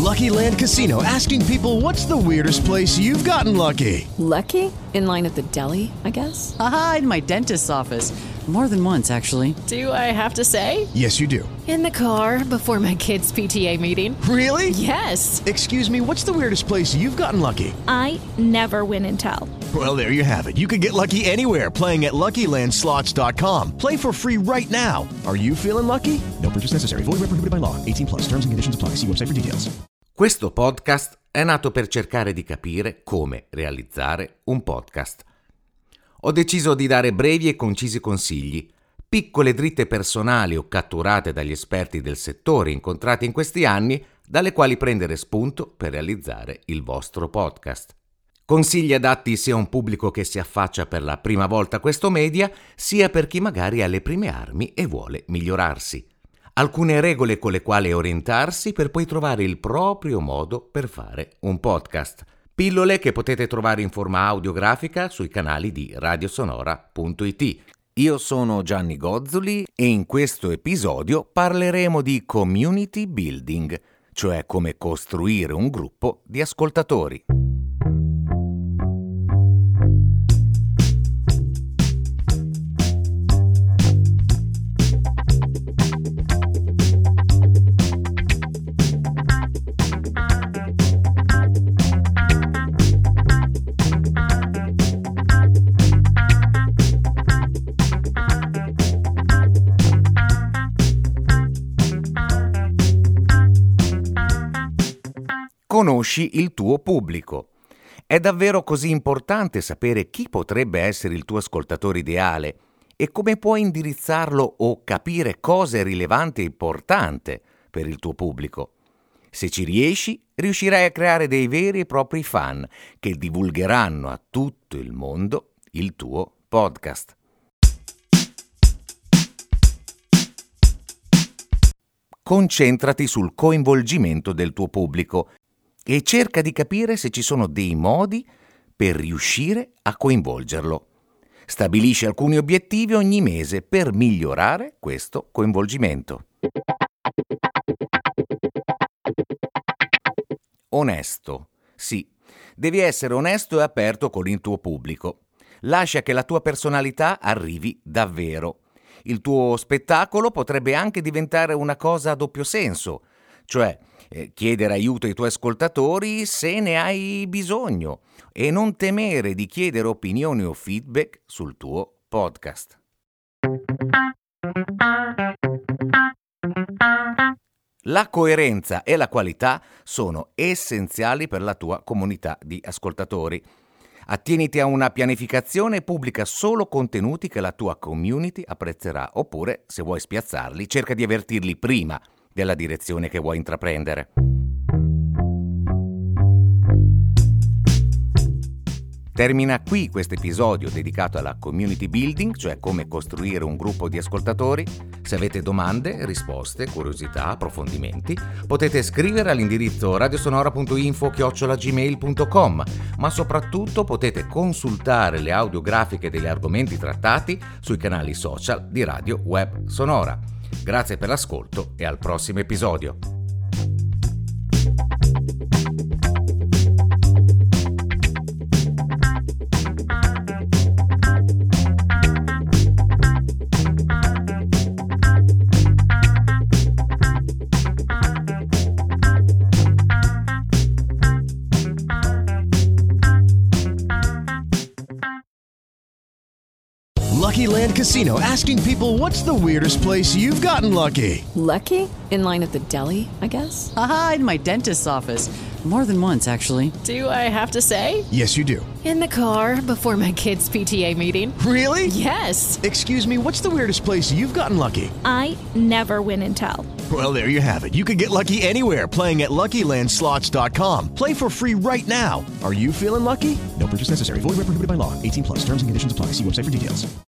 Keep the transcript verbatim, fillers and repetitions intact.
Lucky Land Casino, asking people, what's the weirdest place you've gotten lucky? Lucky? In line at the deli, I guess? Aha, in my dentist's office. More than once, actually. Do I have to say? Yes, you do. In the car before my kids' P T A meeting. Really? Yes. Excuse me, what's the weirdest place you've gotten lucky? I never win and tell. Well, there you have it. You can get lucky anywhere, playing at Lucky Land Slots dot com. Play for free right now. Are you feeling lucky? No purchase necessary. Void where prohibited by law. eighteen plus. Terms and conditions apply. See website for details. Questo podcast è nato per cercare di capire come realizzare un podcast. Ho deciso di dare brevi e concisi consigli, piccole dritte personali o catturate dagli esperti del settore incontrati in questi anni, dalle quali prendere spunto per realizzare il vostro podcast. Consigli adatti sia a un pubblico che si affaccia per la prima volta a questo media, sia per chi magari ha le prime armi e vuole migliorarsi. Alcune regole con le quali orientarsi per poi trovare il proprio modo per fare un podcast. Pillole che potete trovare in forma audiografica sui canali di radiosonora punto it. Io sono Gianni Gozzoli e in questo episodio parleremo di community building, cioè come costruire un gruppo di ascoltatori. Conosci il tuo pubblico. È davvero così importante sapere chi potrebbe essere il tuo ascoltatore ideale e come puoi indirizzarlo o capire cosa è rilevante e importante per il tuo pubblico. Se ci riesci, riuscirai a creare dei veri e propri fan che divulgheranno a tutto il mondo il tuo podcast. Concentrati sul coinvolgimento del tuo pubblico e cerca di capire se ci sono dei modi per riuscire a coinvolgerlo. Stabilisci alcuni obiettivi ogni mese per migliorare questo coinvolgimento. Onesto. Sì, devi essere onesto e aperto con il tuo pubblico. Lascia che la tua personalità arrivi davvero. Il tuo spettacolo potrebbe anche diventare una cosa a doppio senso, cioè eh, chiedere aiuto ai tuoi ascoltatori se ne hai bisogno e non temere di chiedere opinioni o feedback sul tuo podcast. La coerenza e la qualità sono essenziali per la tua comunità di ascoltatori. Attieniti a una pianificazione e pubblica solo contenuti che la tua community apprezzerà, oppure, se vuoi spiazzarli, cerca di avvertirli prima della direzione che vuoi intraprendere. Termina qui questo episodio dedicato alla community building, cioè come costruire un gruppo di ascoltatori. Se avete domande, risposte, curiosità, approfondimenti, potete scrivere all'indirizzo radiosonora punto info chiocciola gmail punto com, ma soprattutto potete consultare le audiografiche degli argomenti trattati sui canali social di Radio Web Sonora. Grazie per l'ascolto e al prossimo episodio. Lucky Land Casino, asking people, what's the weirdest place you've gotten lucky? Lucky? In line at the deli, I guess? Aha, in my dentist's office. More than once, actually. Do I have to say? Yes, you do. In the car before my kids' P T A meeting. Really? Yes. Excuse me, what's the weirdest place you've gotten lucky? I never win and tell. Well, there you have it. You can get lucky anywhere, playing at Lucky Land Slots dot com. Play for free right now. Are you feeling lucky? No purchase necessary. Void where prohibited by law. eighteen plus. Terms and conditions apply. See website for details.